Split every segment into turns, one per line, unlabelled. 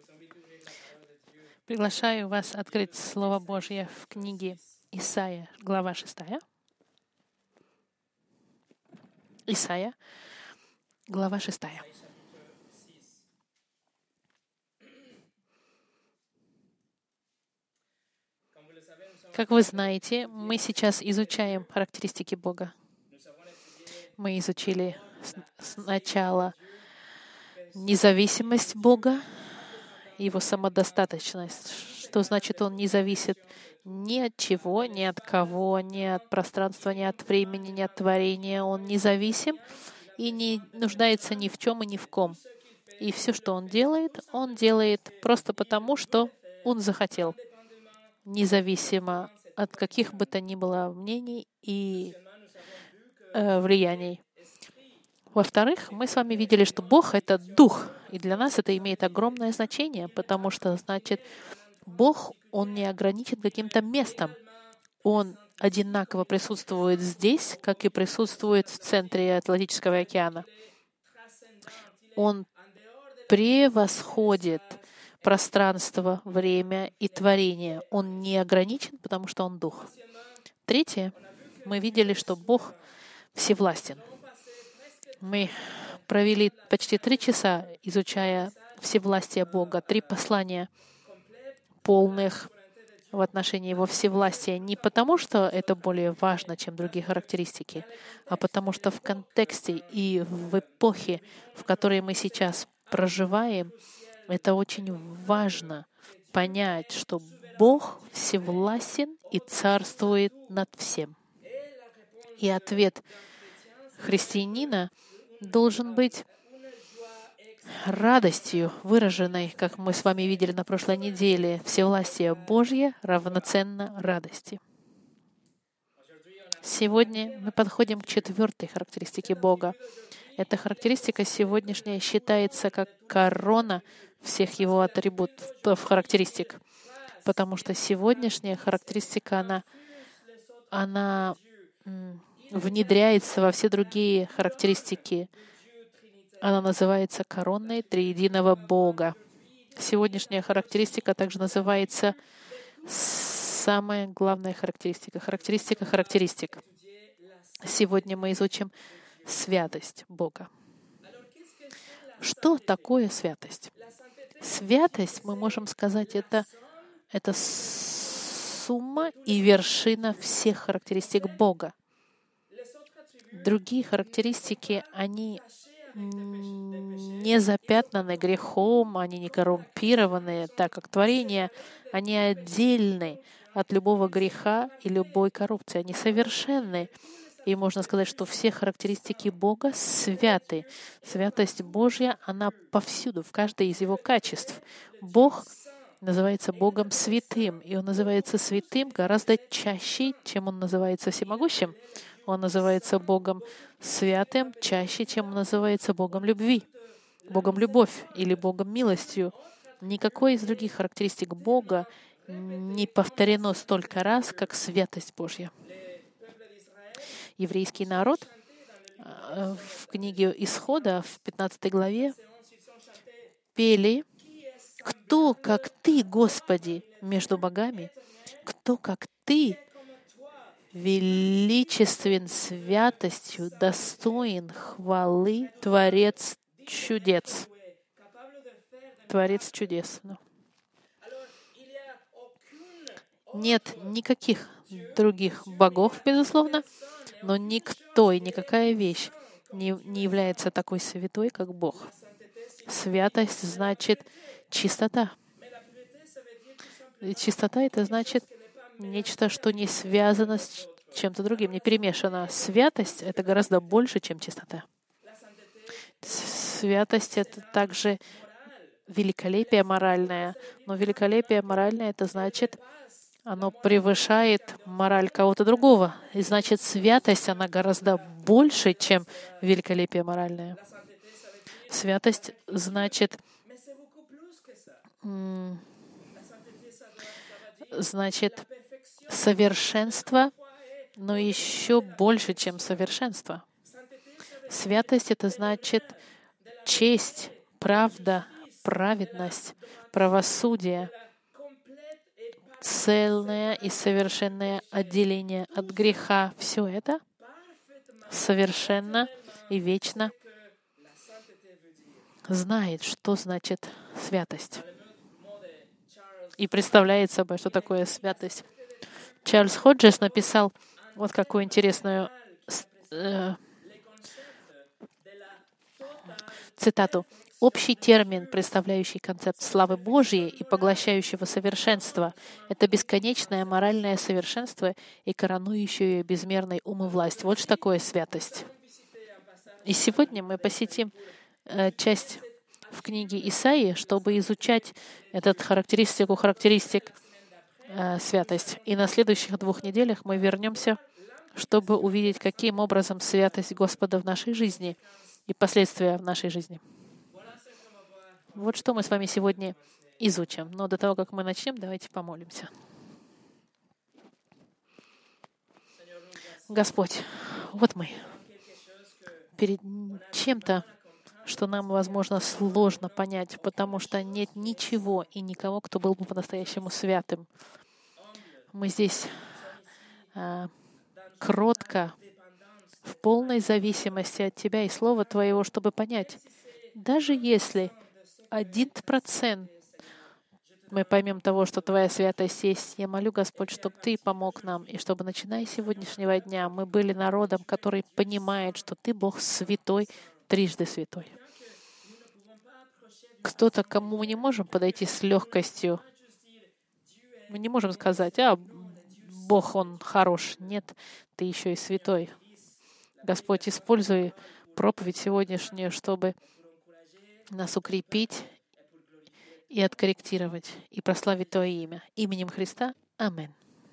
Приглашаю вас открыть Слово Божье в книге Исайя, глава 6. Исайя, глава 6. Как вы знаете, мы сейчас изучаем характеристики Бога. Мы изучили сначала независимость Бога, Его самодостаточность, что значит, Он не зависит ни от чего, ни от кого, ни от пространства, ни от времени, ни от творения. Он независим и не нуждается ни в чем и ни в ком. И все, что Он делает просто потому, что Он захотел, независимо от каких бы то ни было мнений и влияний. Во-вторых, мы с вами видели, что Бог — это Дух, и для нас это имеет огромное значение, потому что, значит, Бог, Он не ограничен каким-то местом. Он одинаково присутствует здесь, как и присутствует в центре Атлантического океана. Он превосходит пространство, время и творение. Он не ограничен, потому что Он Дух. Третье, мы видели, что Бог всевластен. Мы провели почти 3 часа, изучая всевластие Бога, 3 послания полных в отношении Его всевластия. Не потому, что это более важно, чем другие характеристики, а потому что в контексте и в эпохе, в которой мы сейчас проживаем, это очень важно понять, что Бог всевластен и царствует над всем. И ответ христианина должен быть радостью, выраженной, как мы с вами видели на прошлой неделе. Всевластие Божье равноценно радости. Сегодня мы подходим к 4-й характеристике Бога. Эта характеристика сегодняшняя считается как корона всех Его атрибутов, характеристик, потому что сегодняшняя характеристика, она внедряется во все другие характеристики. Она называется короной триединого Бога. Сегодняшняя характеристика также называется самая главная характеристика. Характеристика характеристик. Сегодня мы изучим святость Бога. Что такое святость? Святость, мы можем сказать, это сумма и вершина всех характеристик Бога. Другие характеристики, они не запятнаны грехом, они не коррумпированы, так как творение, они отдельны от любого греха и любой коррупции. Они совершенны. И можно сказать, что все характеристики Бога святы. Святость Божья, она повсюду, в каждой из Его качеств. Бог называется Богом святым, и Он называется святым гораздо чаще, чем Он называется всемогущим. Он называется Богом святым чаще, чем Он называется Богом любви, Богом любовь или Богом милостью. Никакой из других характеристик Бога не повторено столько раз, как святость Божья. Еврейский народ в книге Исхода, в 15 главе, пели: «Кто, как Ты, Господи, между богами? Кто, как Ты, величествен святостью, достоин хвалы, Творец чудес». Творец чудес. Нет никаких других богов, безусловно, но никто и никакая вещь не является такой святой, как Бог. Святость значит чистота. И чистота — это значит нечто, что не связано с чем-то другим, не перемешано. Святость — это гораздо больше, чем чистота. Святость — это также великолепие моральное. Но великолепие моральное — это значит, оно превышает мораль кого-то другого. И значит, святость, она гораздо больше, чем великолепие моральное. Святость значит совершенство, но еще больше, чем совершенство. Святость — это значит честь, правда, праведность, правосудие, цельное и совершенное отделение от греха. Все это совершенно и вечно знает, что значит святость. И представляет собой, что такое святость. Чарльз Ходжес написал вот какую интересную цитату. «Общий термин, представляющий концепт славы Божьей и поглощающего совершенства, это бесконечное моральное совершенство и коронующее безмерный ум и власть». Вот что такое святость. И сегодня мы посетим часть в книге Исаии, чтобы изучать эту характеристик святость. И на следующих 2 неделях мы вернемся, чтобы увидеть, каким образом святость Господа в нашей жизни и последствия в нашей жизни. Вот что мы с вами сегодня изучим. Но до того, как мы начнем, давайте помолимся. Господь, вот мы перед чем-то, что нам, возможно, сложно понять, потому что нет ничего и никого, кто был бы по-настоящему святым. Мы здесь кротко, в полной зависимости от Тебя и Слова Твоего, чтобы понять, даже если 1% мы поймем того, что Твоя святость есть, я молю, Господь, чтобы Ты помог нам, и чтобы, начиная с сегодняшнего дня, мы были народом, который понимает, что Ты Бог святой, трижды святой. Кто-то, к кому мы не можем подойти с легкостью, мы не можем сказать, Бог, Он хорош. Нет, Ты еще и святой. Господь, используй проповедь сегодняшнюю, чтобы нас укрепить и откорректировать, и прославить Твое имя. Именем Христа. Аминь.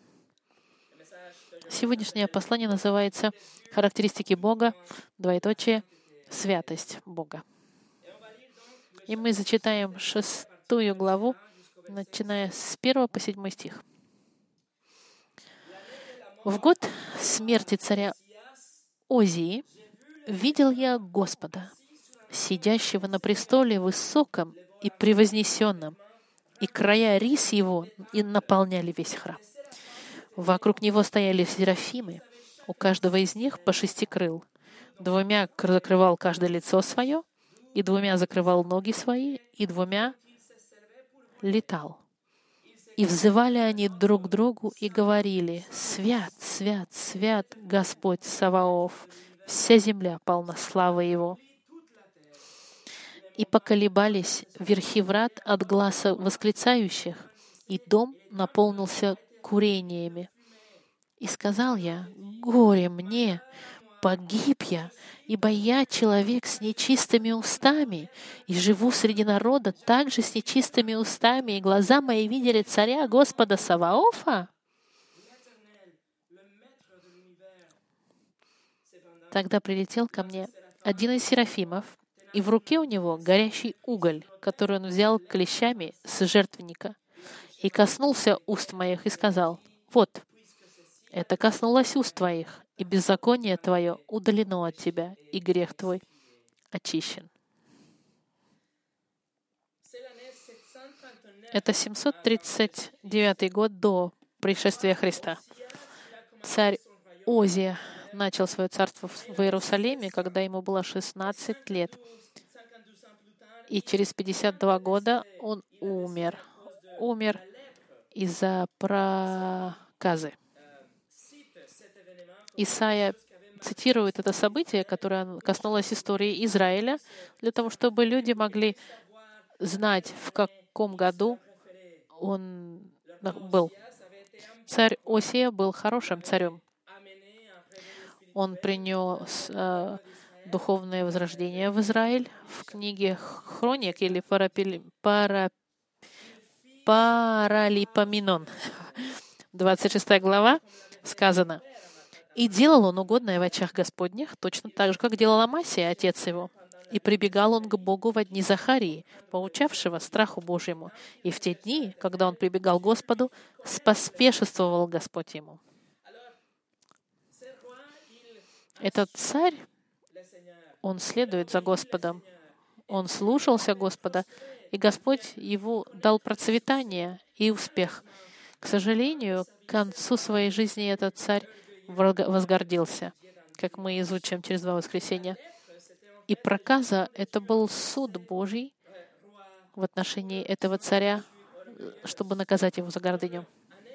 Сегодняшнее послание называется «Характеристики Бога, святость Бога». И мы зачитаем 6 главу, начиная с 1 по 7 стих. «В год смерти царя Озии видел я Господа, сидящего на престоле высоком и превознесенном, и края рис его и наполняли весь храм. Вокруг него стояли серафимы, у каждого из них по 6 крыл. 2 закрывал каждое лицо свое, и 2 закрывал ноги свои, и 2 летал. И взывали они друг к другу и говорили: «Свят, свят, свят Господь Саваоф, вся земля полна славы Его». И поколебались верхи врат от гласа восклицающих, и дом наполнился курениями. И сказал я: «Горе мне, погиб я, ибо я человек с нечистыми устами, и живу среди народа также с нечистыми устами, и глаза мои видели царя Господа Саваофа». Тогда прилетел ко мне один из серафимов, и в руке у него горящий уголь, который он взял клещами с жертвенника, и коснулся уст моих и сказал: «Вот, это коснулось уст твоих, и беззаконие твое удалено от тебя, и грех твой очищен». Это 739 год до пришествия Христа. Царь Озия начал свое царство в Иерусалиме, когда ему было 16 лет. И через 52 года он умер. Умер из-за проказы. Исайя цитирует это событие, которое коснулось истории Израиля, для того, чтобы люди могли знать, в каком году он был. Царь Осия был хорошим царем. Он принес духовное возрождение в Израиль. В книге Хроник или Паралипоменон, 26 глава, сказано: «И делал он угодное в очах Господних, точно так же, как делал Амасия, отец его. И прибегал он к Богу во дни Захарии, поучавшего страху Божьему. И в те дни, когда он прибегал к Господу, споспешествовал Господь ему». Этот царь, он следует за Господом, он слушался Господа, и Господь его дал процветание и успех. К сожалению, к концу своей жизни этот царь возгордился, как мы изучим через 2 воскресенья. И проказа — это был суд Божий в отношении этого царя, чтобы наказать его за гордыню.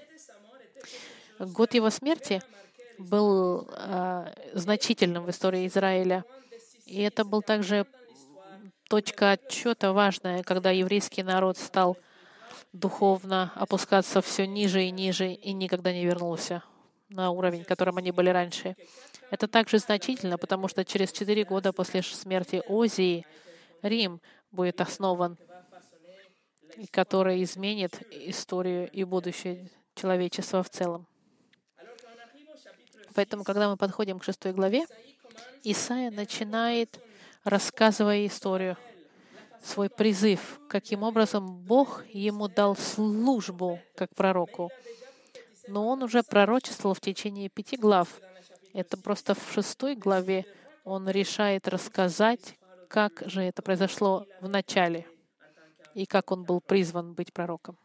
Год его смерти был значительным в истории Израиля. И это был также точка отчета важная, когда еврейский народ стал духовно опускаться все ниже и ниже и никогда не вернулся на уровень, которым они были раньше. Это также значительно, потому что через 4 года после смерти Озии Рим будет основан, который изменит историю и будущее человечества в целом. Поэтому, когда мы подходим к 6 главе, Исаия начинает, рассказывая историю, свой призыв, каким образом Бог ему дал службу как пророку. Но он уже пророчествовал в течение 5 глав. Это просто в 6 главе он решает рассказать, как же это произошло в начале и как он был призван быть пророком.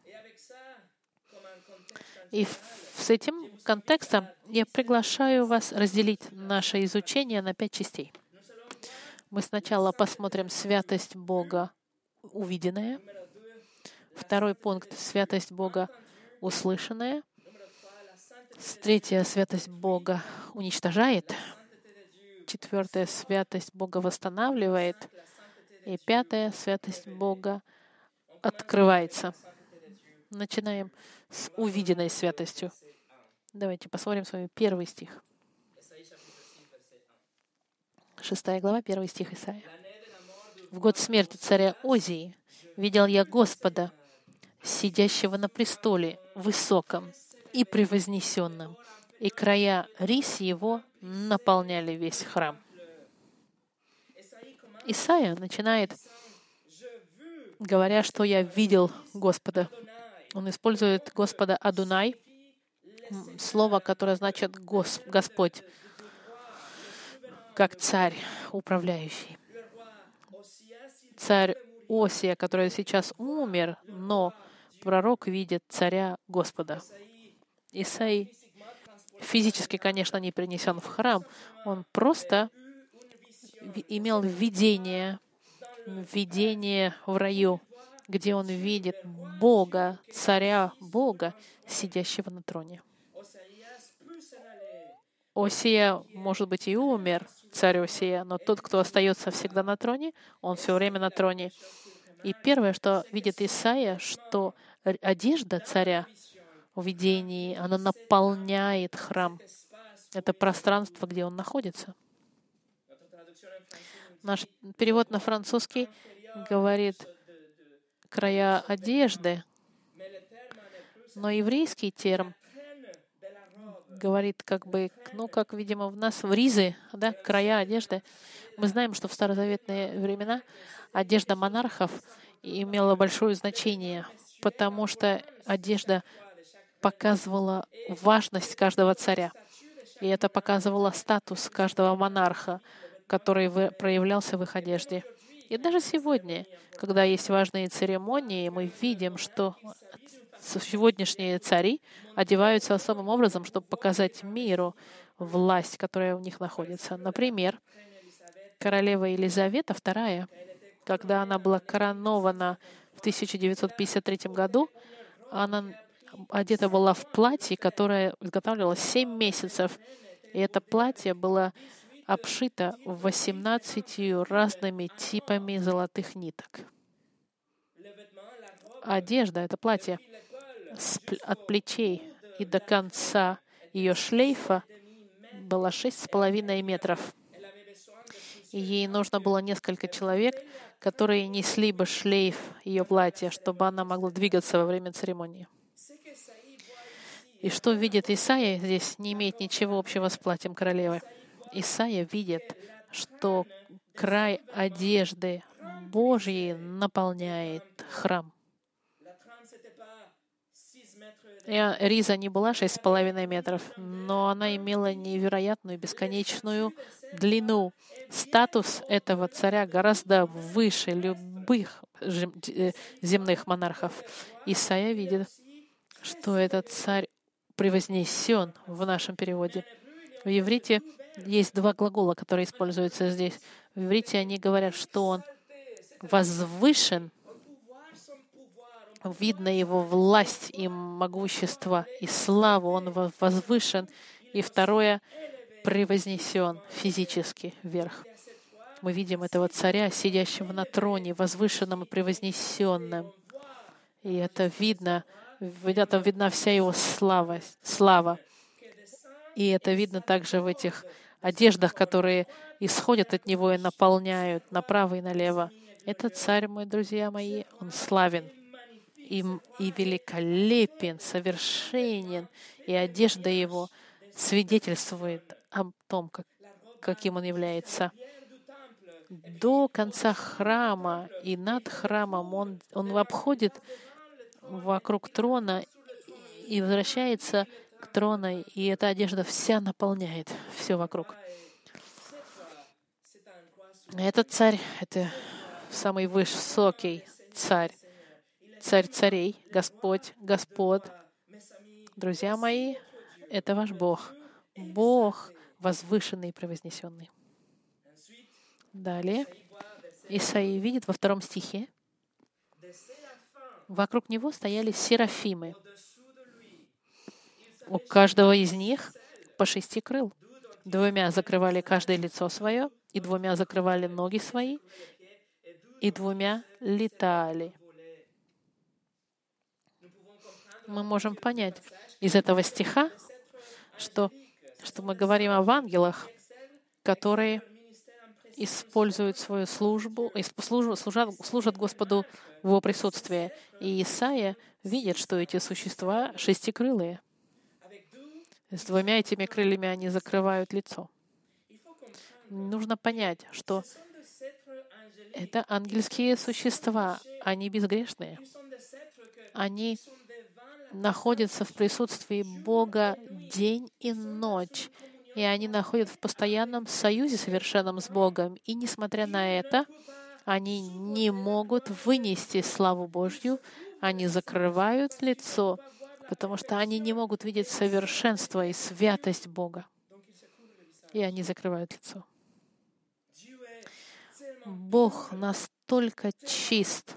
И с этим контекстом я приглашаю вас разделить наше изучение на 5 частей. Мы сначала посмотрим святость Бога увиденная. 2 пункт — святость Бога услышанная. 3 — святость Бога уничтожает. 4 — святость Бога восстанавливает. И 5 — святость Бога открывается. Начинаем с увиденной святостью. Давайте посмотрим с вами 1 стих. 6 глава, 1 стих Исаия. «В год смерти царя Озии видел я Господа, сидящего на престоле, высоком и превознесенном, и края рис его наполняли весь храм». Исаия начинает, говоря, что я видел Господа. Он использует Господа Адунай, слово, которое значит Господь, как царь, управляющий. Царь Осия, который сейчас умер, но пророк видит царя Господа. Исаий физически, конечно, не принесен в храм, он просто имел видение в раю, где он видит Бога, царя Бога, сидящего на троне. Осия, может быть, и умер, царь Осия, но тот, кто остается всегда на троне, он все время на троне. И первое, что видит Исаия, что одежда царя в видении, она наполняет храм. Это пространство, где он находится. Наш перевод на французский говорит «края одежды», но еврейский термин говорит как, видимо, в нас в ризы, да, края одежды. Мы знаем, что в старозаветные времена одежда монархов имела большое значение, потому что одежда показывала важность каждого царя. И это показывало статус каждого монарха, который проявлялся в их одежде. И даже сегодня, когда есть важные церемонии, мы видим, что сегодняшние цари одеваются особым образом, чтобы показать миру власть, которая у них находится. Например, королева Елизавета II, когда она была коронована в 1953 году, она одета была в платье, которое изготавливалось 7 месяцев. И это платье было обшито 18 разными типами золотых ниток. Одежда, это платье, от плечей и до конца ее шлейфа было 6,5 метров. И ей нужно было несколько человек, которые несли бы шлейф ее платья, чтобы она могла двигаться во время церемонии. И что видит Исаия здесь, не имеет ничего общего с платьем королевы. Исаия видит, что край одежды Божьей наполняет храм. И риза не была 6,5 метров, но она имела невероятную бесконечную длину. Статус этого царя гораздо выше любых земных монархов. Исайя видит, что этот царь превознесен в нашем переводе. В иврите есть два глагола, которые используются здесь. В иврите они говорят, что он возвышен, видно его власть и могущество, и славу, он возвышен. И второе — превознесен физически вверх. Мы видим этого царя, сидящего на троне, возвышенным и превознесенным. И это видно, там видна вся его слава. И это видно также в этих одеждах, которые исходят от него и наполняют направо и налево. Этот царь, мои друзья мои, он славен и великолепен, совершенен, и одежда его свидетельствует о том, каким он является. До конца храма и над храмом он обходит вокруг трона и возвращается к трону, и эта одежда вся наполняет все вокруг. Этот царь — это самый высокий царь, царь царей, Господь господ. Друзья мои, это ваш Бог. Бог возвышенный и превознесенный. Далее Исаия видит во 2 стихе, вокруг него стояли серафимы. У каждого из них по 6 крыл. 2 закрывали каждое лицо свое, и 2 закрывали ноги свои, и 2 летали. Мы можем понять из этого стиха, что мы говорим об ангелах, которые используют свою службу, служат Господу в Его присутствии. И Исаия видит, что эти существа шестикрылые. С 2 этими крыльями они закрывают лицо. Нужно понять, что это ангельские существа, они безгрешные. Они находятся в присутствии Бога день и ночь, и они находятся в постоянном союзе совершенном с Богом. И несмотря на это, они не могут вынести славу Божью, они закрывают лицо, потому что они не могут видеть совершенство и святость Бога. И они закрывают лицо. Бог настолько чист,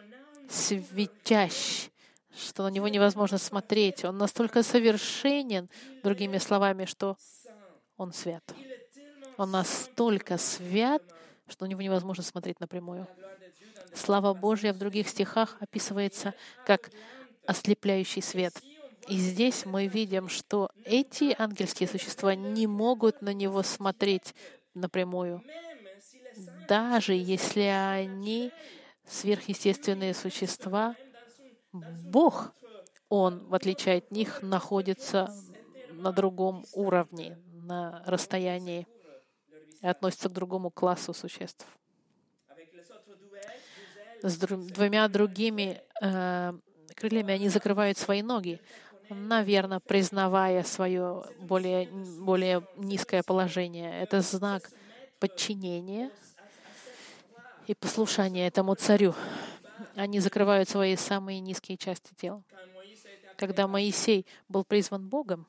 светящ, что на Него невозможно смотреть. Он настолько совершенен, другими словами, что Он свят. Он настолько свят, что на Него невозможно смотреть напрямую. Слава Божья в других стихах описывается как ослепляющий свет. И здесь мы видим, что эти ангельские существа не могут на Него смотреть напрямую. Даже если они сверхъестественные существа, Бог, Он, в отличие от них, находится на другом уровне, на расстоянии, и относится к другому классу существ. С 2 другими крыльями они закрывают свои ноги, наверное, признавая свое более низкое положение. Это знак подчинения и послушания этому царю. Они закрывают свои самые низкие части тела. Когда Моисей был призван Богом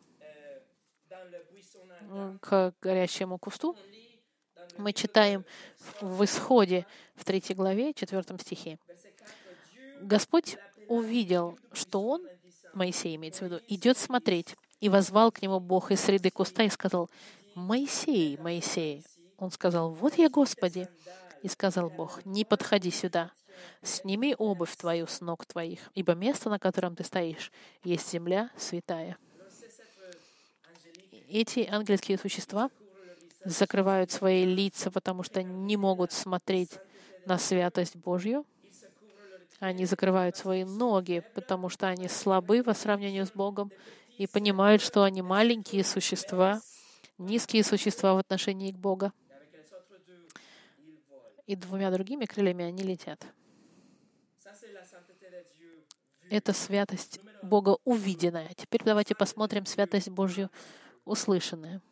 к горящему кусту, мы читаем в Исходе, в 3 главе, 4 стихе. Господь увидел, что он, Моисей имеется в виду, идет смотреть, и возвал к нему Бог из среды куста и сказал: «Моисей, Моисей». Он сказал: «Вот я, Господи». И сказал Бог: «Не подходи сюда, сними обувь твою с ног твоих, ибо место, на котором ты стоишь, есть земля святая». Эти ангельские существа закрывают свои лица, потому что не могут смотреть на святость Божью. Они закрывают свои ноги, потому что они слабы по сравнению с Богом и понимают, что они маленькие существа, низкие существа в отношении к Богу. И 2 другими крыльями они летят. Это святость Бога увиденная. Теперь давайте посмотрим святость Божью услышанная.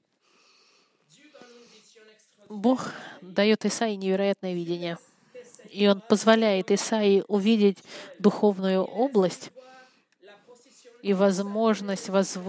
Бог дает Исаии невероятное видение. И он позволяет Исаии увидеть духовную область и возможность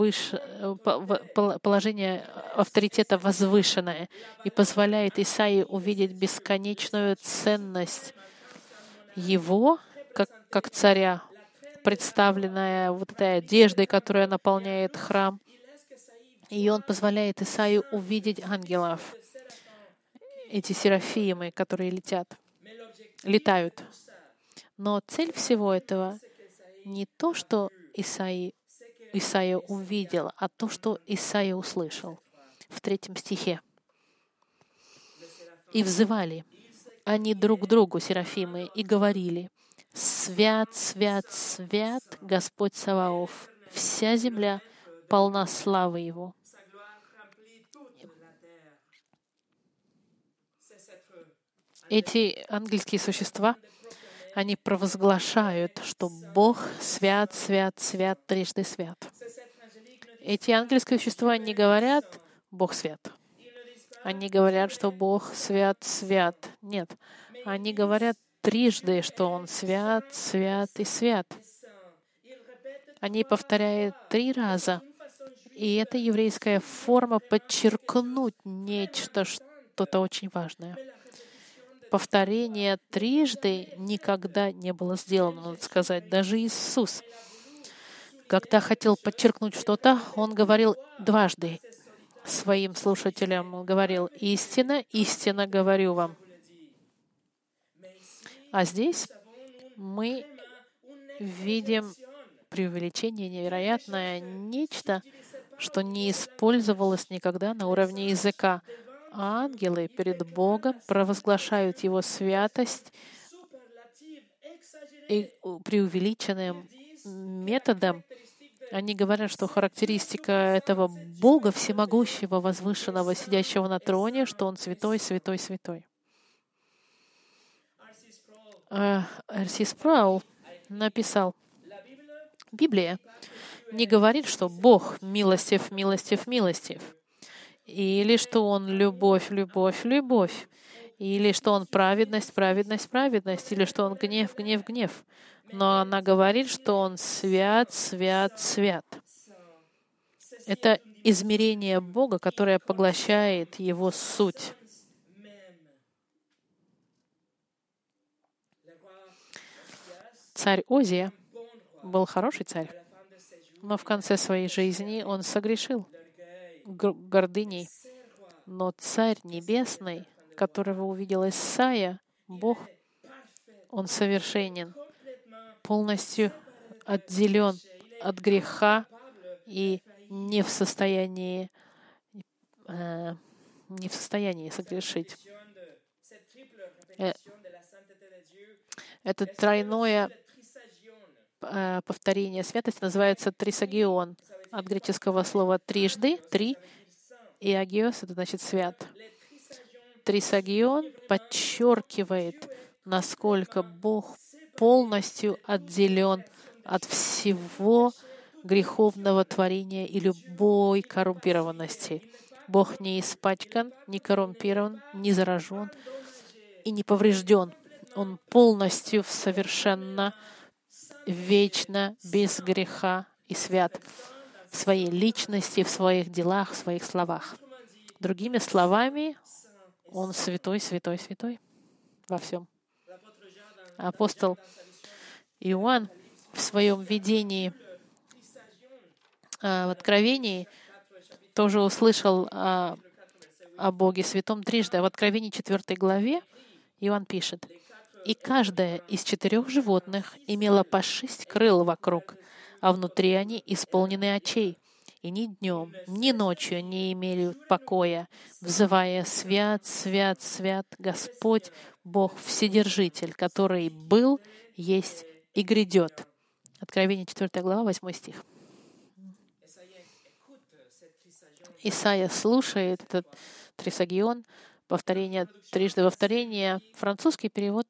положения авторитета возвышенное, и позволяет Исаии увидеть бесконечную ценность его, как царя, представленная вот этой одеждой, которая наполняет храм. И он позволяет Исаию увидеть ангелов, эти серафимы, которые летают. Но цель всего этого не то, что Исаия увидел, а то, что Исаия услышал. В 3 стихе. «И взывали они друг к другу, серафимы, и говорили: Свят, свят, свят Господь Саваоф, вся земля полна славы Его». Эти ангельские существа, они провозглашают, что Бог свят, свят, свят, трижды свят. Эти ангельские существа не говорят «Бог свят». Они говорят, что Бог свят, свят. Нет. Они говорят трижды, что Он свят, свят и свят. Они повторяют 3 раза. И это еврейская форма подчеркнуть нечто, что-то очень важное. Повторение трижды никогда не было сделано, надо сказать. Даже Иисус, когда хотел подчеркнуть что-то, Он говорил дважды своим слушателям. Он говорил: «Истина, истинно говорю вам». А здесь мы видим преувеличение невероятное, нечто, что не использовалось никогда на уровне языка. Ангелы перед Богом провозглашают Его святость и преувеличенным методом. Они говорят, что характеристика этого Бога всемогущего, возвышенного, сидящего на троне, что Он святой, святой, святой. Р.С. Спраул написал: Библия не говорит, что Бог милостив, милостив, милостив, или что Он любовь, любовь, любовь, или что Он праведность, праведность, праведность, или что Он гнев, гнев, гнев. Но она говорит, что Он свят, свят, свят. Это измерение Бога, которое поглощает Его суть. Царь Озия был хороший царь, но в конце своей жизни он согрешил гордыней. Но Царь Небесный, которого увидел Исаия, Бог, Он совершенен, полностью отделен от греха и не в состоянии согрешить. Это тройное повторение святости называется трисагион. От греческого слова «трижды», «три», и «агиос» — это значит «свят». Трисагион подчеркивает, насколько Бог полностью отделен от всего греховного творения и любой коррумпированности. Бог не испачкан, не коррумпирован, не заражен и не поврежден. Он полностью, совершенно, вечно, без греха и свят в своей личности, в своих делах, в своих словах. Другими словами, Он святой, святой, святой во всем. Апостол Иоанн в своем видении в Откровении тоже услышал о Боге Святом трижды. А в Откровении 4 главе Иоанн пишет: «И каждое из 4 животных имело по 6 крыл вокруг, а внутри они исполнены очей, и ни днем, ни ночью не имели покоя, взывая: свят, свят, свят Господь, Бог Вседержитель, который был, есть и грядет». Откровение 4 глава, 8 стих. Исайя слушает этот трисагион, повторение трижды повторение. Французский перевод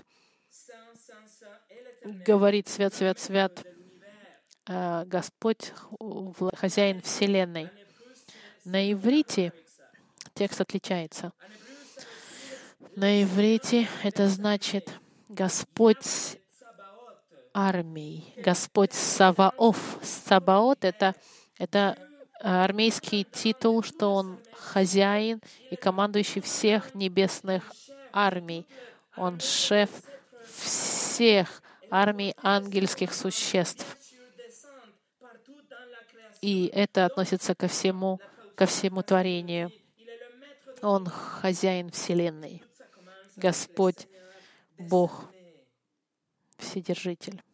говорит: «Свят, свят, свят Господь, хозяин Вселенной». На иврите текст отличается. На иврите это значит Господь армий, Господь Саваоф. Саваот — это армейский титул, что Он хозяин и командующий всех небесных армий. Он шеф всех армий ангельских существ. И это относится ко всему творению. Он хозяин Вселенной. Господь Бог, Вседержитель.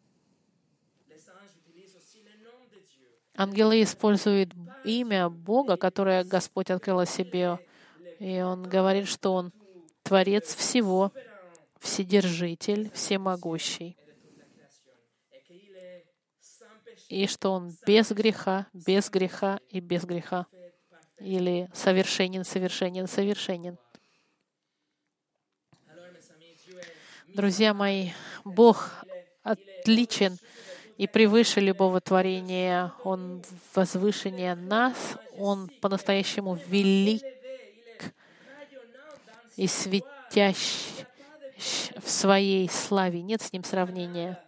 Ангелы используют имя Бога, которое Господь открыл о себе. И Он говорит, что Он Творец всего, Вседержитель, Всемогущий. И что Он без греха и без греха. Или совершенен, совершенен, совершенен. Друзья мои, Бог отличен и превыше любого творения. Он возвышеннее нас. Он по-настоящему велик и светящ в своей славе. Нет с Ним сравнения.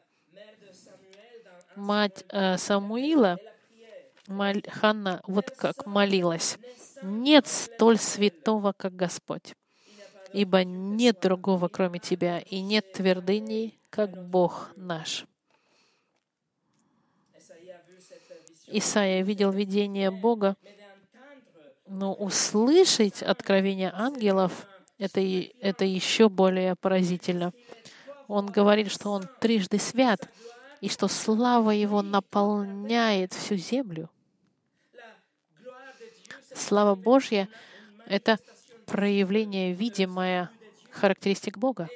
Мать Самуила, Ханна, вот как молилась: «Нет столь святого, как Господь, ибо нет другого, кроме Тебя, и нет твердыни, как Бог наш». Исаия видел видение Бога, но услышать откровение ангелов — это еще более поразительно. Он говорит, что Он трижды свят, и что слава Его наполняет всю землю. Слава Божья — это проявление, видимое характеристик Бога.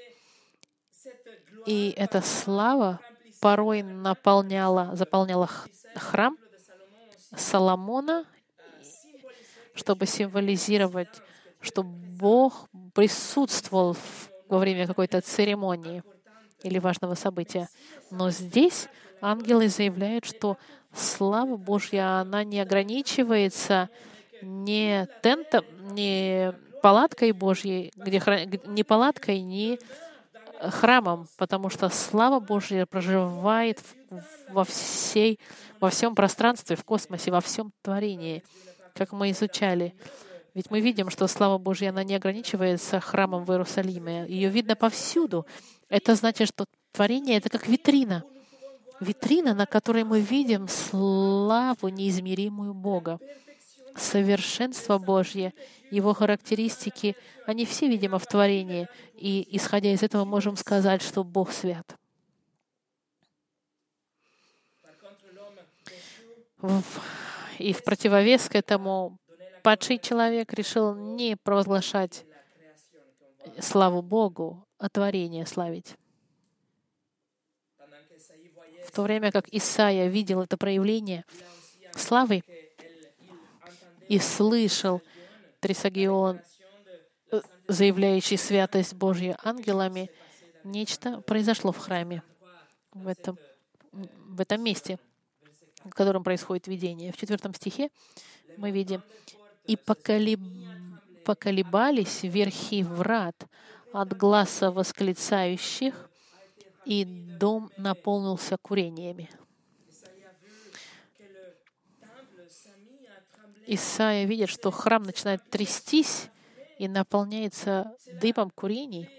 И эта слава порой заполняла храм Соломона, чтобы символизировать, что Бог присутствовал во время какой-то церемонии или важного события. Но здесь ангелы заявляют, что слава Божья, она не ограничивается не тентом, не палаткой Божьей, не палаткой, не храмом, потому что слава Божья проживает во всем пространстве, в космосе, во всем творении, как мы изучали. Ведь мы видим, что слава Божья, она не ограничивается храмом в Иерусалиме. Ее видно повсюду. Это значит, что творение — это как витрина. Витрина, на которой мы видим славу неизмеримую Бога. Совершенство Божье, Его характеристики, они все, видимо, в творении. И, исходя из этого, можем сказать, что Бог свят. И в противовес к этому падший человек решил не провозглашать славу Богу, а творение славить. В то время как Исаия видел это проявление славы и слышал Трисагион, заявляющий святость Божью ангелами, нечто произошло в храме, в этом месте, в котором происходит видение. В 4 стихе мы видим: «И поколебались верхи врат от гласа восклицающих, и дом наполнился курениями». Исаия видит, что храм начинает трястись и наполняется дымом курений.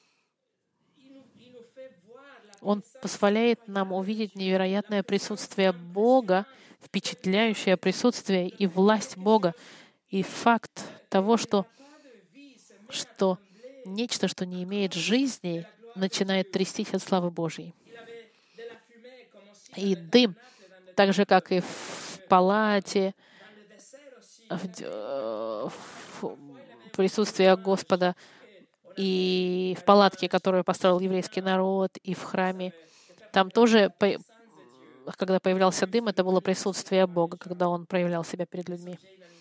Он позволяет нам увидеть невероятное присутствие Бога, впечатляющее присутствие и власть Бога, и факт того, что нечто, что не имеет жизни, начинает трястись от славы Божьей. И дым, так же, как и в палате, в присутствии Господа, и в палатке, которую построил еврейский народ, и в храме. Там тоже, когда появлялся дым, это было присутствие Бога, когда Он проявлял себя перед людьми.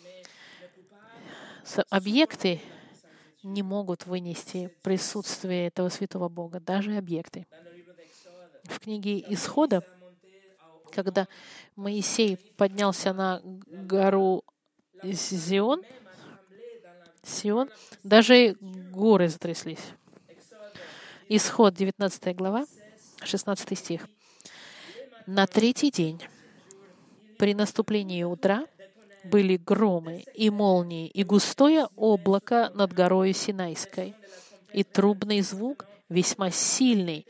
Объекты не могут вынести присутствие этого святого Бога, даже объекты. В книге Исхода, когда Моисей поднялся на гору Сион, даже горы затряслись. Исход, 19 глава, 16 стих. «На третий день, при наступлении утра, были громы и молнии, и густое облако над горою Синайской, и трубный звук весьма сильный,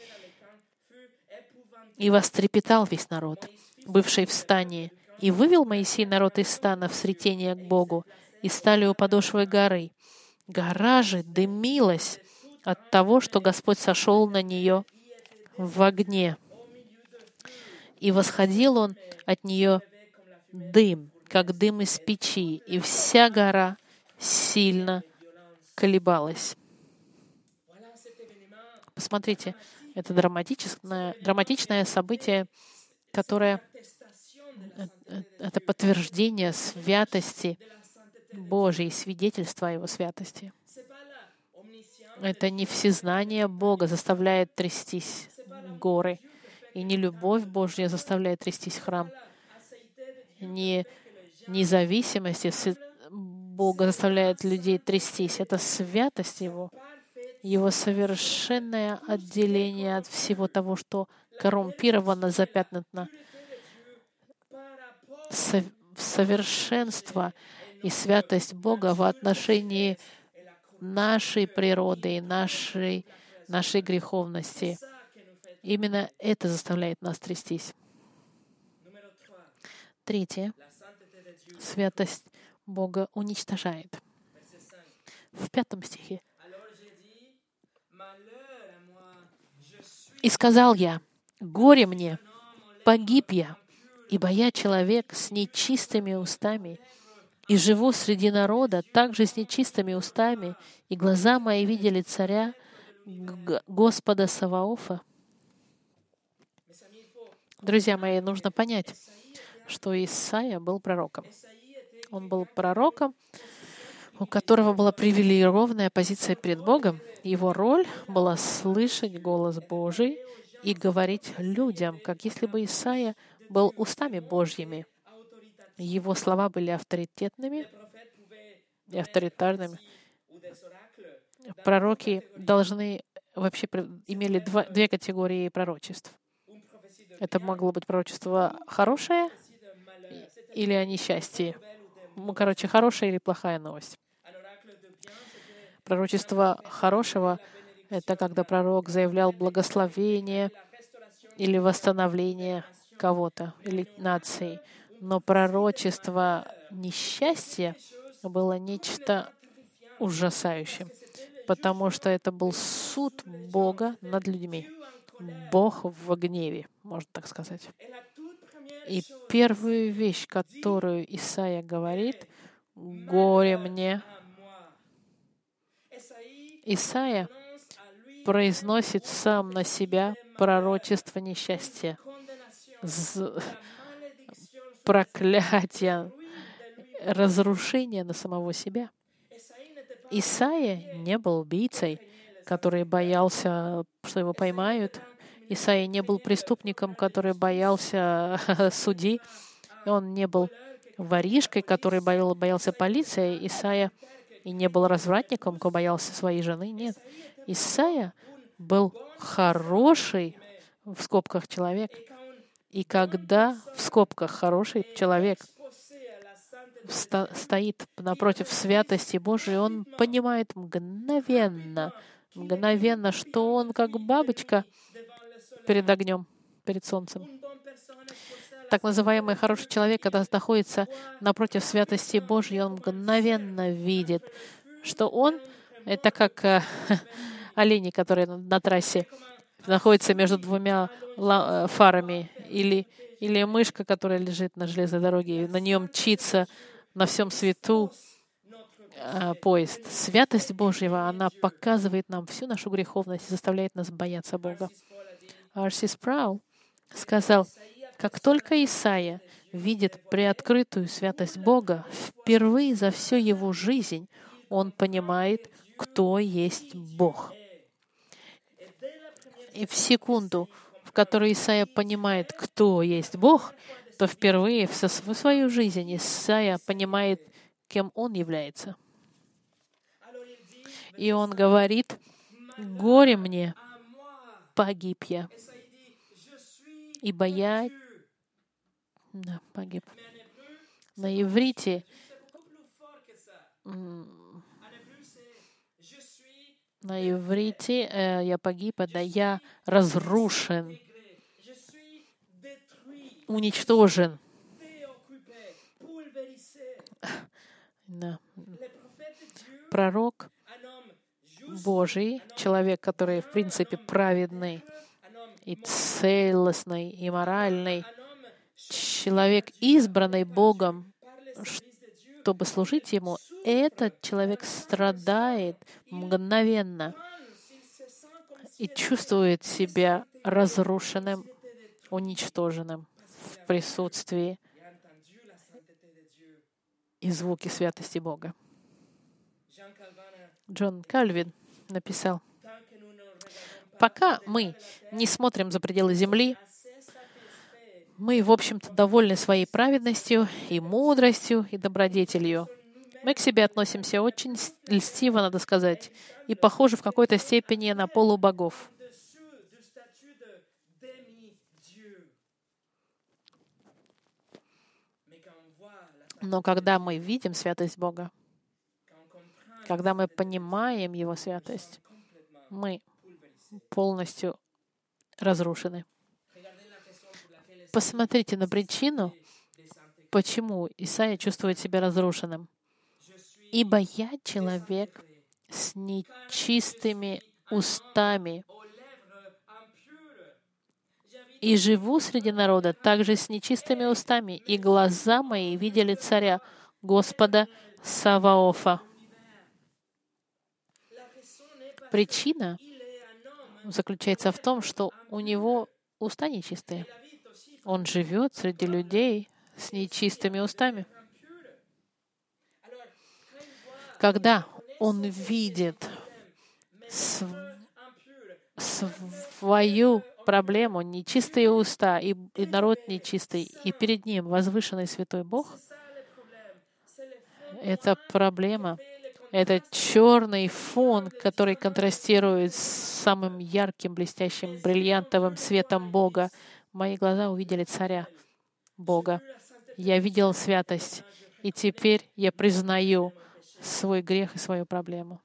и вострепетал весь народ, бывший в стане, и вывел Моисей народ из стана в сретение к Богу, и стали у подошвы горы. Гора же дымилась от того, что Господь сошел на нее в огне. И восходил он от нее дым, как дым из печи, и вся гора сильно колебалась». Посмотрите, это драматичное событие, которое это подтверждение святости Божьей, свидетельство о Его святости. Это не всезнание Бога заставляет трястись горы, и не любовь Божья заставляет трястись храм, не независимость Бога заставляет людей трястись. Это святость Его, Его совершенное отделение от всего того, что коррумпировано, запятнано. Совершенство и святость Бога в отношении нашей природы и нашей греховности. Именно это заставляет нас трястись. Третье. Святость Бога уничтожает. В 5 стихе. «И сказал я, горе мне, погиб я, ибо я человек с нечистыми устами, и живу среди народа также с нечистыми устами, и глаза мои видели царя, Господа Саваофа». Друзья мои, нужно понять, что Исаия был пророком. Он был пророком, у которого была привилегированная позиция перед Богом. Его роль была слышать голос Божий и говорить людям, как если бы Исаия был устами Божьими. Его слова были авторитетными и авторитарными. Пророки имели две категории пророчеств. Это могло быть пророчество хорошее или о несчастье. Хорошая или плохая новость. Пророчество хорошего — это когда пророк заявлял благословение или восстановление кого-то или нации. Но пророчество несчастья было нечто ужасающим, потому что это был суд Бога над людьми. Бог в гневе, можно так сказать. И первую вещь, которую Исаия говорит: «Горе мне». Исаия произносит сам на себя пророчество несчастья, проклятия, разрушения на самого себя. Исаия не был убийцей, который боялся, что его поймают. Исаия не был преступником, который боялся судьи. Он не был воришкой, который боялся полиции. Исаия и не был развратником, который боялся своей жены. Нет. Исаия был хороший, в скобках, человек. И когда, в скобках, хороший человек стоит напротив святости Божией, он понимает мгновенно, что он как бабочка перед огнем, перед солнцем. Так называемый хороший человек, когда находится напротив святости Божьей, он мгновенно видит, что он — это как олени, которые на трассе находятся между двумя фарами, или мышка, которая лежит на железной дороге, и на нее мчится на всем свету поезд. Святость Божьего, она показывает нам всю нашу греховность и заставляет нас бояться Бога. Арси Спраул сказал: как только Исаия видит приоткрытую святость Бога, впервые за всю его жизнь он понимает, кто есть Бог. И в секунду, в которой Исаия понимает, кто есть Бог, то впервые в свою жизнь Исаия понимает, кем он является. И он говорит: «Горе мне, погиб я, ибо я погиб. На иврите я погиб, это я разрушен, уничтожен. Да. Пророк Божий, человек, который, в принципе, праведный и целостный, и моральный, человек, избранный Богом, чтобы служить Ему, этот человек страдает мгновенно и чувствует себя разрушенным, уничтоженным в присутствии и звуке святости Бога. Джон Кальвин написал: «Пока мы не смотрим за пределы земли, мы, в общем-то, довольны своей праведностью и мудростью и добродетелью. Мы к себе относимся очень льстиво, надо сказать, и похожи в какой-то степени на полубогов. Но когда мы видим святость Бога, когда мы понимаем Его святость, мы полностью разрушены». Посмотрите на причину, почему Исаия чувствует себя разрушенным. «Ибо я человек с нечистыми устами, и живу среди народа также с нечистыми устами, и глаза мои видели царя, Господа Саваофа». Причина заключается в том, что у него уста нечистые. Он живет среди людей с нечистыми устами. Когда он видит свою проблему, нечистые уста и народ нечистый, и перед ним возвышенный святой Бог, это проблема, это черный фон, который контрастирует с самым ярким, блестящим, бриллиантовым светом Бога. Мои глаза увидели царя Бога. Я видел святость, и теперь я признаю свой грех и свою проблему.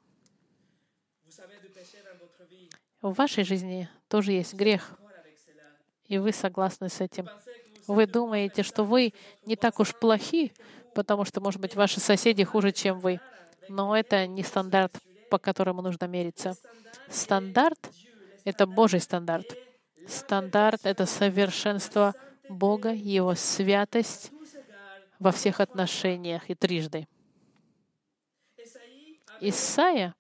В вашей жизни тоже есть грех, и вы согласны с этим. Вы думаете, что вы не так уж плохи, потому что, может быть, ваши соседи хуже, чем вы. Но это не стандарт, по которому нужно мериться. Стандарт — это Божий стандарт. Стандарт — это совершенство Бога, Его святость во всех отношениях и трижды. Исайя,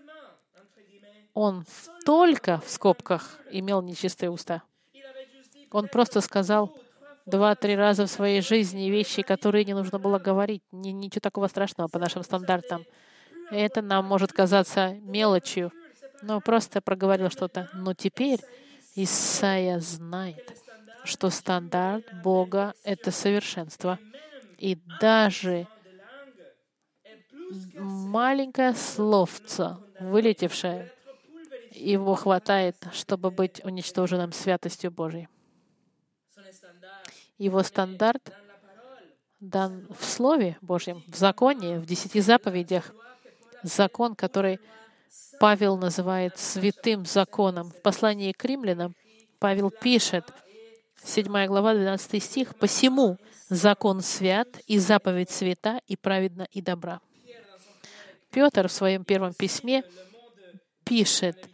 он только, в скобках, имел нечистые уста. Он просто сказал 2-3 раза в своей жизни вещи, которые не нужно было говорить. Ничего такого страшного по нашим стандартам. Это нам может казаться мелочью, но просто проговорил что-то. Но теперь Исайя знает, что стандарт Бога — это совершенство. И даже маленькое словце, вылетевшее, его хватает, чтобы быть уничтоженным святостью Божией. Его стандарт дан в Слове Божьем, в законе, в 10 заповедях. Закон, который Павел называет святым законом. В послании к римлянам Павел пишет, 7 глава, 12 стих, «Посему закон свят, и заповедь свята, и праведна, и добра». Петр в своем первом письме пишет,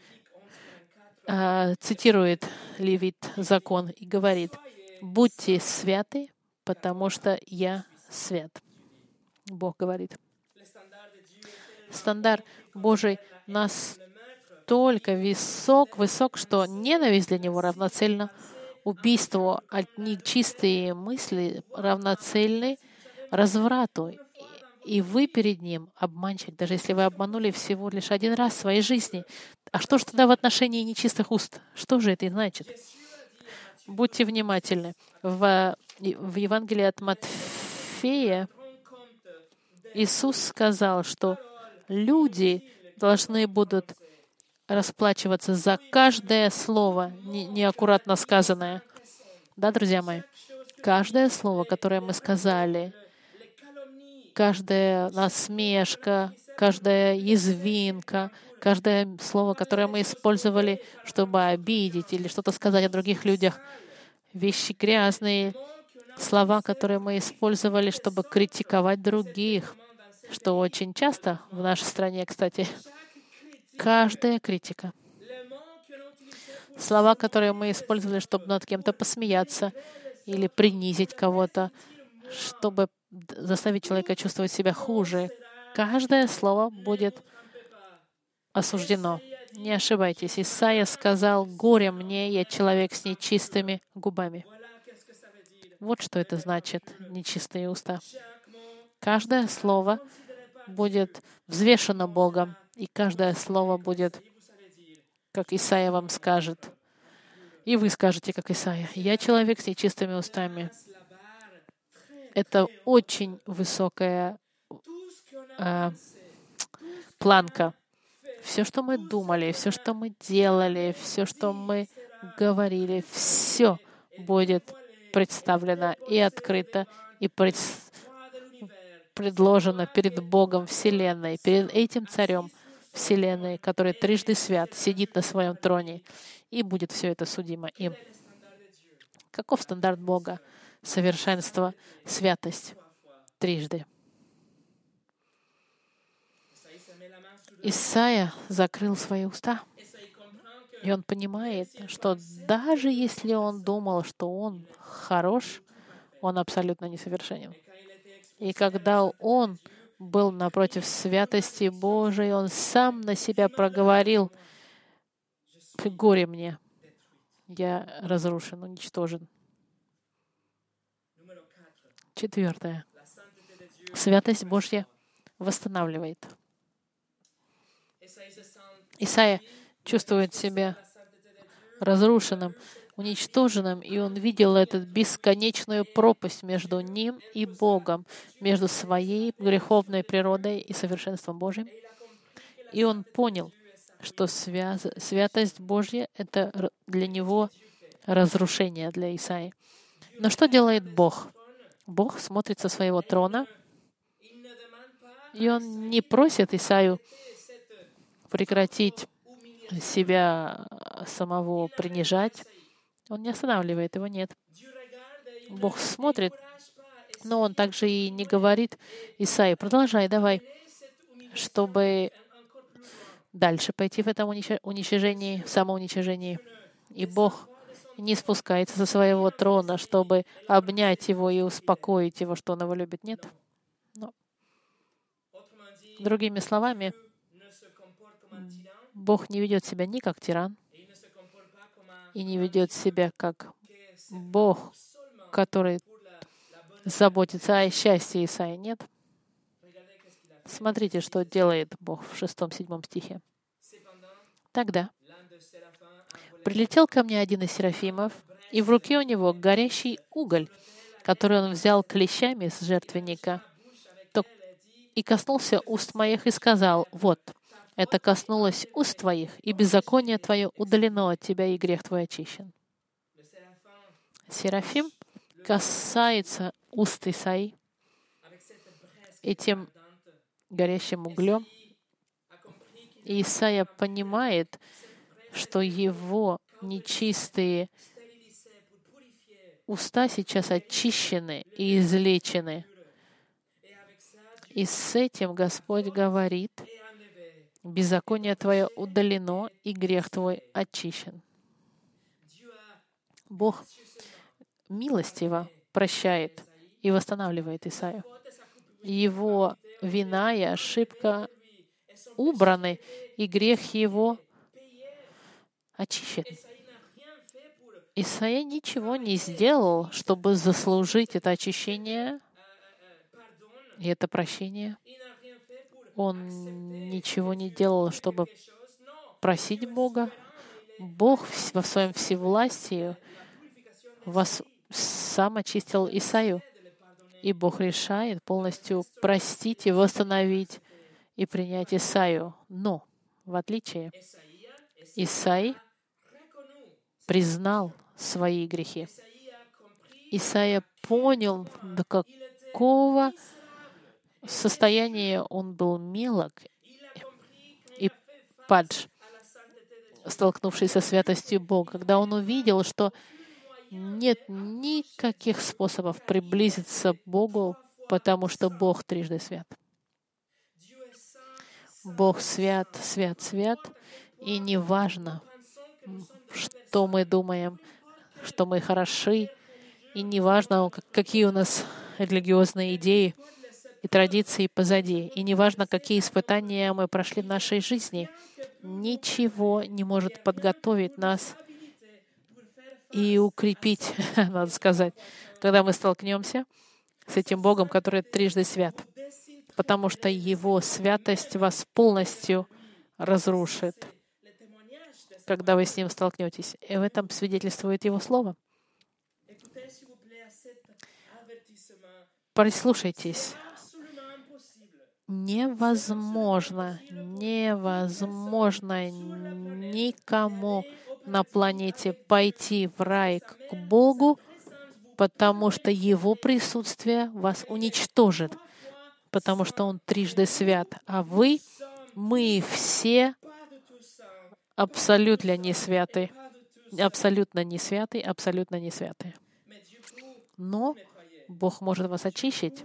цитирует Левит закон и говорит: «Будьте святы, потому что я свят». Бог говорит. Стандарт Божий настолько высок, что ненависть для Него равноценна убийству, а нечистые мысли равноценны разврату. И вы перед Ним обманщик, даже если вы обманули всего лишь один раз в своей жизни. А что же тогда в отношении нечистых уст? Что же это значит? Будьте внимательны. В Евангелии от Матфея Иисус сказал, что люди должны будут расплачиваться за каждое слово неаккуратно сказанное. Да, друзья мои? Каждое слово, которое мы сказали, каждая насмешка, каждая язвинка, каждое слово, которое мы использовали, чтобы обидеть или что-то сказать о других людях, вещи грязные, слова, которые мы использовали, чтобы критиковать других, что очень часто в нашей стране, кстати, каждая критика. Слова, которые мы использовали, чтобы над кем-то посмеяться или принизить кого-то, чтобы заставить человека чувствовать себя хуже. Каждое слово будет осуждено. Не ошибайтесь. Исайя сказал: «Горе мне, я человек с нечистыми губами». Вот что это значит, нечистые уста. Каждое слово будет взвешено Богом, и каждое слово будет, как Исайя вам скажет. И вы скажете, как Исайя: «Я человек с нечистыми устами». Это очень высокая планка. Все, что мы думали, все, что мы делали, все, что мы говорили, все будет представлено и открыто, и предложено перед Богом Вселенной, перед этим Царем Вселенной, который трижды свят, сидит на своем троне, и будет все это судимо им. Каков стандарт Бога? Совершенство, святость. Трижды. Исайя закрыл свои уста, и он понимает, что даже если он думал, что он хорош, он абсолютно несовершенен. И когда он был напротив святости Божией, он сам на себя проговорил: «Горе мне, я разрушен, уничтожен». 4. Святость Божья восстанавливает. Исайя чувствует себя разрушенным, уничтоженным, и он видел эту бесконечную пропасть между ним и Богом, между своей греховной природой и совершенством Божьим. И он понял, что святость Божья — это для него разрушение, для Исаии. Но что делает Бог? Бог смотрит со своего трона, и Он не просит Исаию прекратить себя самого принижать. Он не останавливает его, нет. Бог смотрит, но Он также и не говорит: «Исаия, продолжай, давай», чтобы дальше пойти в этом уничижении, в самоуничижении. И Бог не спускается со своего трона, чтобы обнять его и успокоить его, что он его любит. Нет. Но, другими словами, Бог не ведет себя ни как тиран, и не ведет себя как Бог, который заботится о счастье Исаии. Нет. Смотрите, что делает Бог в 6-7 стихе. «Тогда прилетел ко мне один из серафимов, и в руке у него горящий уголь, который он взял клещами с жертвенника, и коснулся уст моих и сказал: вот, это коснулось уст твоих, и беззаконие твое удалено от тебя, и грех твой очищен». Серафим касается уст Исаии этим горящим углем. И Исаия понимает, что его нечистые уста сейчас очищены и излечены. И с этим Господь говорит: беззаконие твое удалено, и грех твой очищен. Бог милостиво прощает и восстанавливает Исаию. Его вина и ошибка убраны, и грех его очищен. Исаия ничего не сделал, чтобы заслужить это очищение и это прощение. Он ничего не делал, чтобы просить Бога. Бог во своем всевластии сам очистил Исаию. И Бог решает полностью простить и восстановить и принять Исаию. Но, в отличие Исаия признал свои грехи. Исаия понял, до какого состояния он был мелок и падж, столкнувшись со святостью Бога, когда он увидел, что нет никаких способов приблизиться к Богу, потому что Бог трижды свят. Бог свят, свят, свят, и неважно, что мы думаем, что мы хороши, и неважно, какие у нас религиозные идеи и традиции позади, и неважно, какие испытания мы прошли в нашей жизни, ничего не может подготовить нас и укрепить, надо сказать, когда мы столкнемся с этим Богом, который трижды свят, потому что Его святость вас полностью разрушит, когда вы с Ним столкнетесь. И в этом свидетельствует Его Слово. Прислушайтесь. Невозможно никому на планете пойти в рай к Богу, потому что Его присутствие вас уничтожит, потому что Он трижды свят. А мы все абсолютно не святы, абсолютно не святы, абсолютно не святы. Но Бог может вас очистить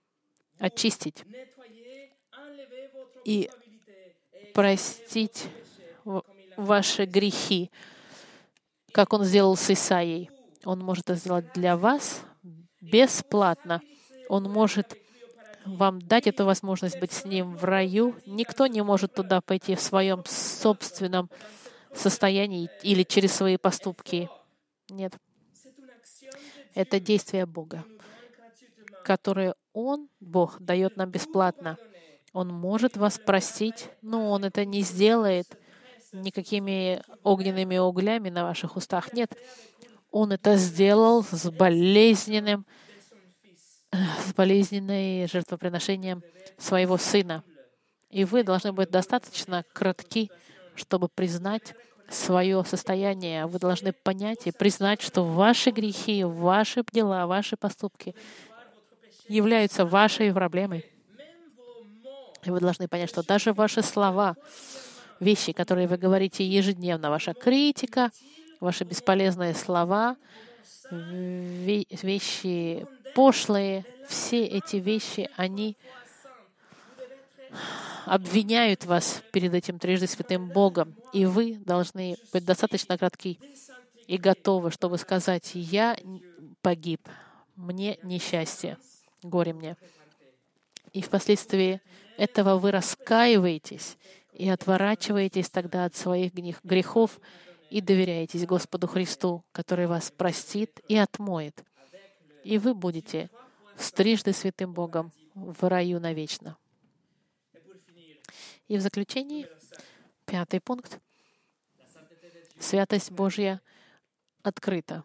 и простить ваши грехи, как Он сделал с Исаией. Он может это сделать для вас бесплатно. Он может вам дать эту возможность быть с Ним в раю. Никто не может туда пойти в своем собственном состоянии или через свои поступки. Нет. Это действие Бога, которое Бог, дает нам бесплатно. Он может вас простить, но Он это не сделает никакими огненными углями на ваших устах. Нет. Он это сделал с болезненным жертвоприношением своего Сына. И вы должны быть достаточно кратки, чтобы признать свое состояние. Вы должны понять и признать, что ваши грехи, ваши дела, ваши поступки являются вашей проблемой. И вы должны понять, что даже ваши слова, вещи, которые вы говорите ежедневно, ваша критика, ваши бесполезные слова, вещи пошлые, все эти вещи, они обвиняют вас перед этим трижды святым Богом. И вы должны быть достаточно кратки и готовы, чтобы сказать: «Я погиб, мне несчастье, горе мне». И впоследствии этого вы раскаиваетесь и отворачиваетесь тогда от своих грехов и доверяетесь Господу Христу, который вас простит и отмоет. И вы будете с трижды святым Богом в раю навечно. И в заключении, 5 пункт. Святость Божья открыта.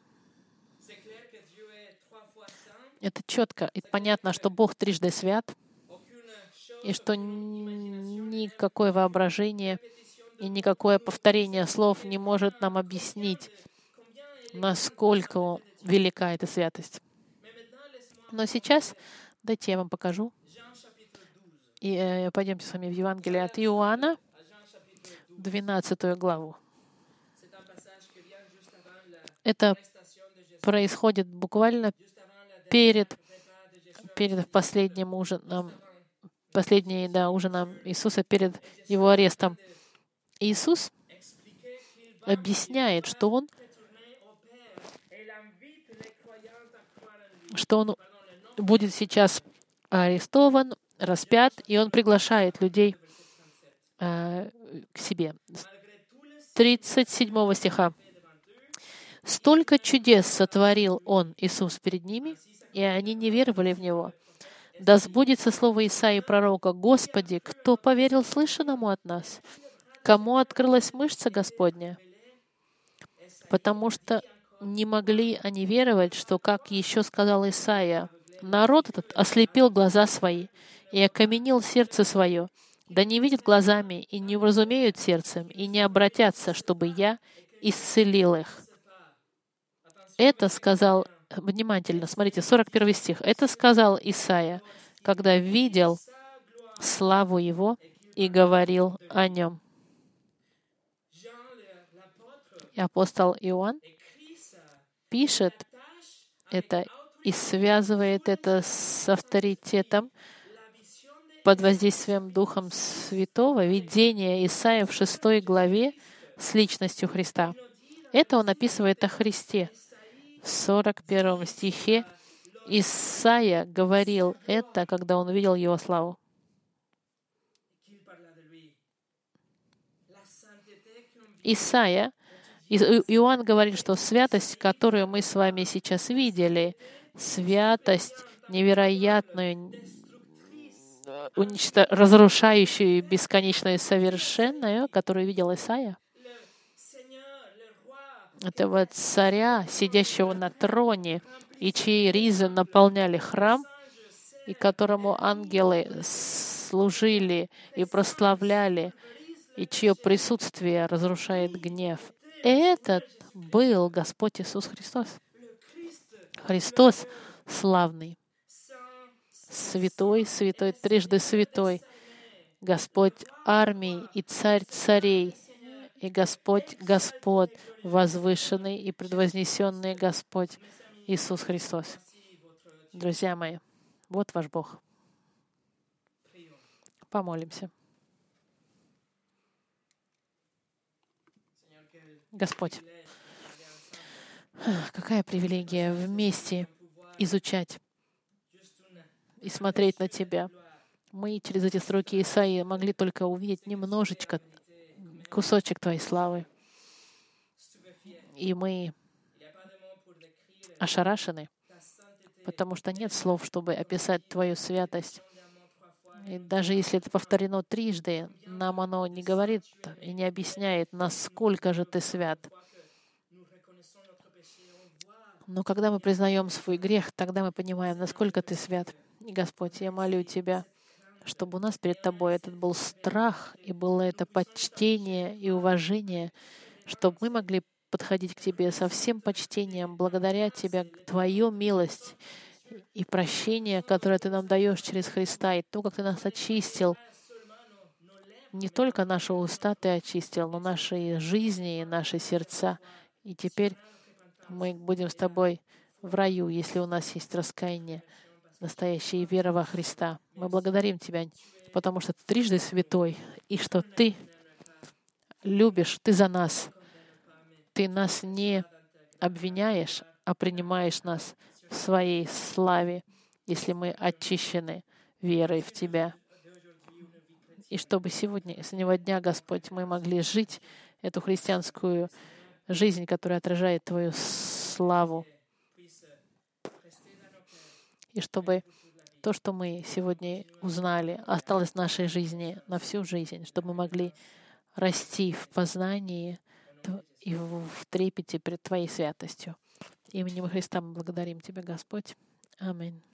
Это четко и понятно, что Бог трижды свят, и что никакое воображение и никакое повторение слов не может нам объяснить, насколько велика эта святость. Но сейчас дайте я вам покажу. И пойдемте с вами в Евангелие от Иоанна, 12 главу. Это происходит буквально перед последним ужином, ужином Иисуса, перед Его арестом. Иисус объясняет, что Он будет сейчас арестован, распят, и Он приглашает людей к себе. 37 стиха. «Столько чудес сотворил Он, Иисус, перед ними, и они не веровали в Него. Да сбудется слово Исаии пророка: Господи, кто поверил слышанному от нас? Кому открылась мышца Господня?» Потому что не могли они веровать, что, как еще сказал Исаия, народ этот ослепил глаза свои и окаменил сердце свое, да не видят глазами и не уразумеют сердцем, и не обратятся, чтобы я исцелил их». Это сказал, внимательно, смотрите, 41 стих. Это сказал Исаия, когда видел славу Его и говорил о Нем. И апостол Иоанн пишет это и связывает это с авторитетом под воздействием Духом Святого, видение Исаия в 6 главе с личностью Христа. Это он описывает о Христе. В 41 стихе Исаия говорил это, когда он увидел Его славу. Иоанн говорит, что святость, которую мы с вами сейчас видели, святость невероятную, разрушающую, бесконечную, совершенную, которую видел Исаия, этого царя, сидящего на троне, и чьи ризы наполняли храм, и которому ангелы служили и прославляли, и чье присутствие разрушает гнев. Этот был Господь Иисус Христос. Христос славный, святой, святой, трижды святой, Господь армий и Царь царей, и Господь Господ, возвышенный и предвознесенный Господь Иисус Христос. Друзья мои, вот ваш Бог. Помолимся. Господь, какая привилегия вместе изучать и смотреть на Тебя. Мы через эти строки Исаии могли только увидеть немножечко, кусочек Твоей славы. И мы ошарашены, потому что нет слов, чтобы описать Твою святость. И даже если это повторено трижды, нам оно не говорит и не объясняет, насколько же Ты свят. Но когда мы признаем свой грех, тогда мы понимаем, насколько Ты свят. И, Господь, я молю Тебя, чтобы у нас перед Тобой этот был страх, и было это почтение и уважение, чтобы мы могли подходить к Тебе со всем почтением, благодаря Тебя, Твою милость и прощение, которое Ты нам даешь через Христа, и то, как Ты нас очистил. Не только наши уста Ты очистил, но наши жизни и наши сердца. И теперь мы будем с Тобой в раю, если у нас есть раскаяние, настоящая вера во Христа. Мы благодарим Тебя, потому что Ты трижды святой, и что Ты любишь, Ты за нас. Ты нас не обвиняешь, а принимаешь нас в Своей славе, если мы очищены верой в Тебя. И чтобы сегодня, с этого дня, Господь, мы могли жить эту христианскую жизнь, которая отражает Твою славу. И чтобы то, что мы сегодня узнали, осталось в нашей жизни на всю жизнь, чтобы мы могли расти в познании и в трепете перед Твоей святостью. Именем Христа мы благодарим Тебя, Господь. Аминь.